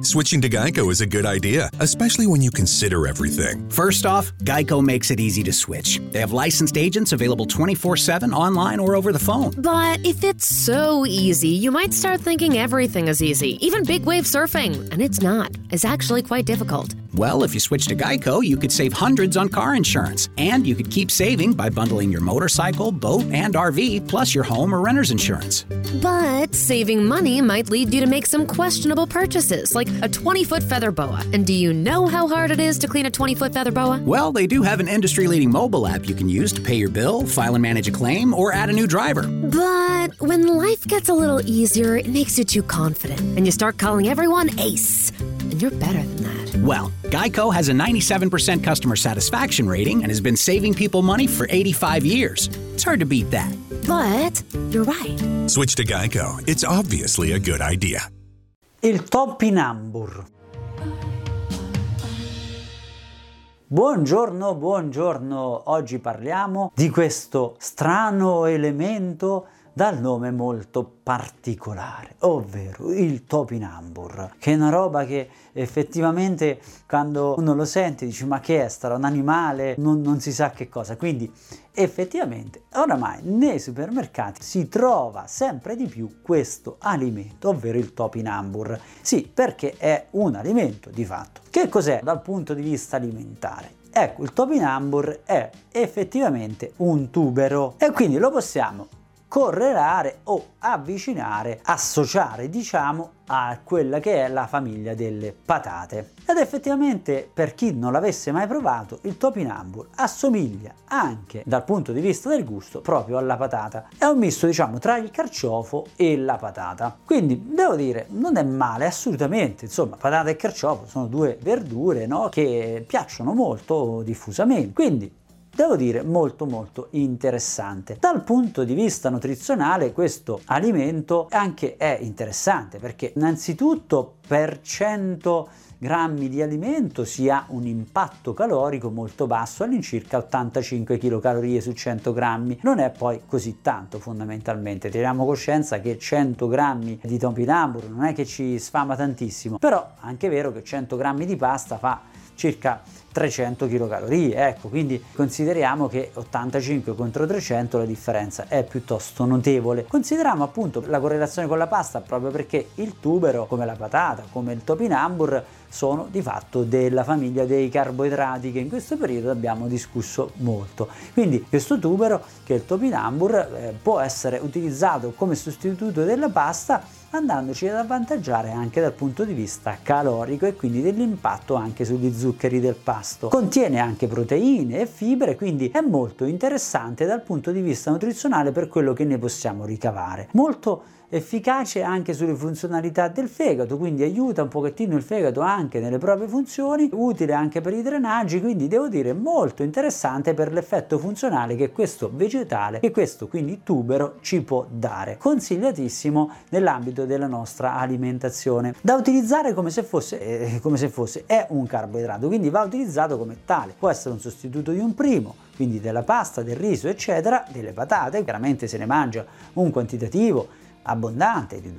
Switching to Geico is a good idea, especially when you consider everything. First off, Geico makes it easy to switch. They have licensed agents available 24/7 online or over the phone. But if it's so easy, you might start thinking everything is easy, even big wave surfing. And it's not. It's actually quite difficult. Well, if you switch to Geico, you could save hundreds on car insurance. And you could keep saving by bundling your motorcycle, boat, and RV, plus your home or renter's insurance. But saving money might lead you to make some questionable purchases, like a 20-foot feather boa. And do you know how hard it is to clean a 20-foot feather boa? Well, they do have an industry-leading mobile app you can use to pay your bill, file and manage a claim, or add a new driver. But when life gets a little easier, it makes you too confident, and you start calling everyone Ace. And you're better than that. Well, Geico has a 97% customer satisfaction rating and has been saving people money for 85 years. It's hard to beat that. But you're right. Switch to Geico. It's obviously a good idea. Il topinambur. Buongiorno, buongiorno. Oggi parliamo di questo strano elemento dal nome molto particolare, ovvero il topinambur, che è una roba che effettivamente quando uno lo sente dice ma che è? Sarà un animale? Non si sa che cosa. Quindi effettivamente oramai nei supermercati si trova sempre di più questo alimento, ovvero il topinambur. Sì, perché è un alimento di fatto. Che cos'è dal punto di vista alimentare? Ecco, il topinambur è effettivamente un tubero e quindi lo possiamo correlare o avvicinare, associare diciamo a quella che è la famiglia delle patate. Ed effettivamente per chi non l'avesse mai provato, il topinambur assomiglia anche dal punto di vista del gusto proprio alla patata. È un misto diciamo tra il carciofo e la patata. Quindi devo dire non è male assolutamente, insomma patata e carciofo sono due verdure, no, che piacciono molto diffusamente. Quindi devo dire molto interessante. Dal punto di vista nutrizionale questo alimento anche è interessante perché innanzitutto per 100 grammi di alimento si ha un impatto calorico molto basso, all'incirca 85 kcal su 100 grammi. Non è poi così tanto fondamentalmente, teniamo coscienza che 100 grammi di topinambur non è che ci sfama tantissimo, però è anche vero che 100 grammi di pasta fa circa 300 kcal, ecco, quindi consideriamo che 85 contro 300 la differenza è piuttosto notevole. Consideriamo appunto la correlazione con la pasta proprio perché il tubero, come la patata, come il topinambur, sono di fatto della famiglia dei carboidrati che in questo periodo abbiamo discusso molto. Quindi questo tubero, che è il topinambur, può essere utilizzato come sostituto della pasta, andandoci ad avvantaggiare anche dal punto di vista calorico e quindi dell'impatto anche sugli zuccheri del pasto. Contiene anche proteine e fibre, quindi è molto interessante dal punto di vista nutrizionale per quello che ne possiamo ricavare. Molto efficace anche sulle funzionalità del fegato, quindi aiuta un pochettino il fegato anche nelle proprie funzioni, utile anche per i drenaggi, quindi devo dire molto interessante per l'effetto funzionale che questo vegetale, che questo quindi tubero ci può dare. Consigliatissimo nell'ambito della nostra alimentazione, da utilizzare come se fosse è un carboidrato, quindi va utilizzato come tale. Può essere un sostituto di un primo, quindi della pasta, del riso eccetera, delle patate, chiaramente se ne mangia un quantitativo abbondante di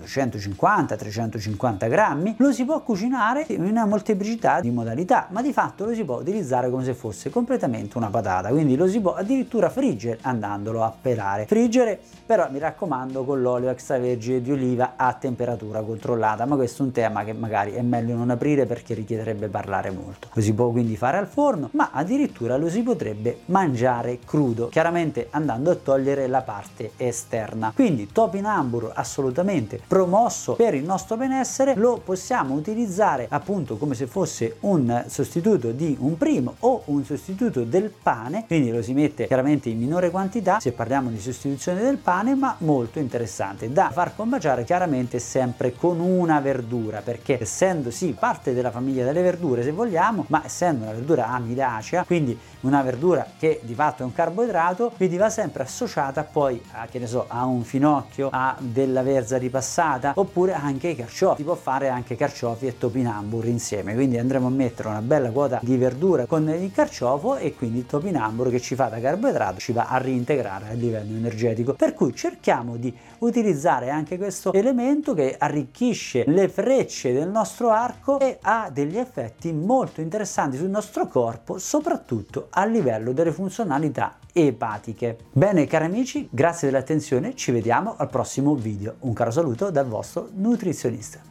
250-350 grammi, lo si può cucinare in una molteplicità di modalità, ma di fatto lo si può utilizzare come se fosse completamente una patata, quindi lo si può addirittura friggere andandolo a pelare. Friggere però mi raccomando con l'olio extravergine di oliva a temperatura controllata, ma questo è un tema che magari è meglio non aprire perché richiederebbe parlare molto. Lo si può quindi fare al forno, ma addirittura lo si potrebbe mangiare crudo, chiaramente andando a togliere la parte esterna. Quindi topinambur assolutamente promosso per il nostro benessere, lo possiamo utilizzare appunto come se fosse un sostituto di un primo o un sostituto del pane, quindi lo si mette chiaramente in minore quantità se parliamo di sostituzione del pane, ma molto interessante da far combaciare chiaramente sempre con una verdura, perché essendo sì parte della famiglia delle verdure se vogliamo, ma essendo una verdura amidacea, quindi una verdura che di fatto è un carboidrato, quindi va sempre associata poi a, che ne so, a un finocchio, a della verza ripassata, oppure anche i carciofi. Si può fare anche carciofi e topinambur insieme, quindi andremo a mettere una bella quota di verdura con il carciofo e quindi il topinambur che ci fa da carboidrato ci va a reintegrare a livello energetico, per cui cerchiamo di utilizzare anche questo elemento che arricchisce le frecce del nostro arco e ha degli effetti molto interessanti sul nostro corpo, soprattutto a livello delle funzionalità epatiche. Bene cari amici, grazie dell'attenzione, ci vediamo al prossimo video. Un caro saluto dal vostro nutrizionista.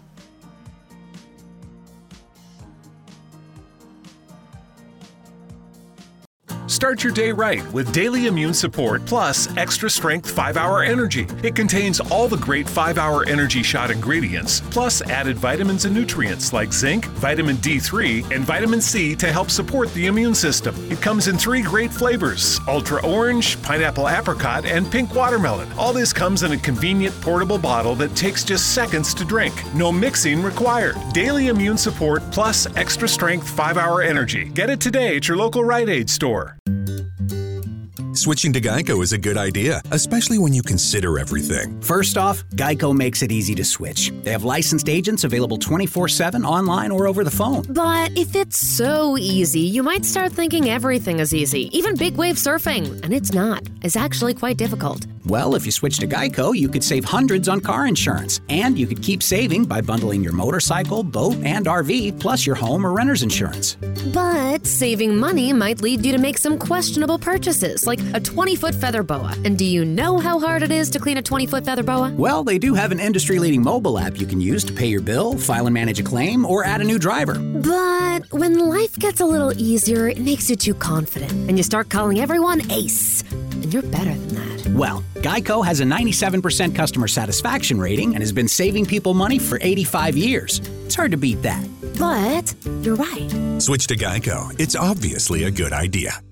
Start your day right with Daily Immune Support Plus Extra Strength 5-Hour Energy. It contains all the great 5-Hour Energy Shot ingredients, plus added vitamins and nutrients like zinc, vitamin D3, and vitamin C to help support the immune system. It comes in 3 great flavors: Ultra Orange, Pineapple Apricot, and Pink Watermelon. All this comes in a convenient portable bottle that takes just seconds to drink. No mixing required. Daily Immune Support Plus Extra Strength 5-Hour Energy. Get it today at your local Rite Aid store. Switching to Geico is a good idea, especially when you consider everything. First off, Geico makes it easy to switch. They have licensed agents available 24/7 online or over the phone. But if it's so easy, you might start thinking everything is easy, even big wave surfing. And it's not. It's actually quite difficult. Well, if you switch to Geico, you could save hundreds on car insurance. And you could keep saving by bundling your motorcycle, boat, and RV, plus your home or renter's insurance. But saving money might lead you to make some questionable purchases, like a 20-foot feather boa. And do you know how hard it is to clean a 20-foot feather boa? Well, they do have an industry-leading mobile app you can use to pay your bill, file and manage a claim, or add a new driver. But when life gets a little easier, it makes you too confident, and you start calling everyone Ace. And you're better than that. Well, Geico has a 97% customer satisfaction rating and has been saving people money for 85 years. It's hard to beat that. But you're right. Switch to Geico. It's obviously a good idea.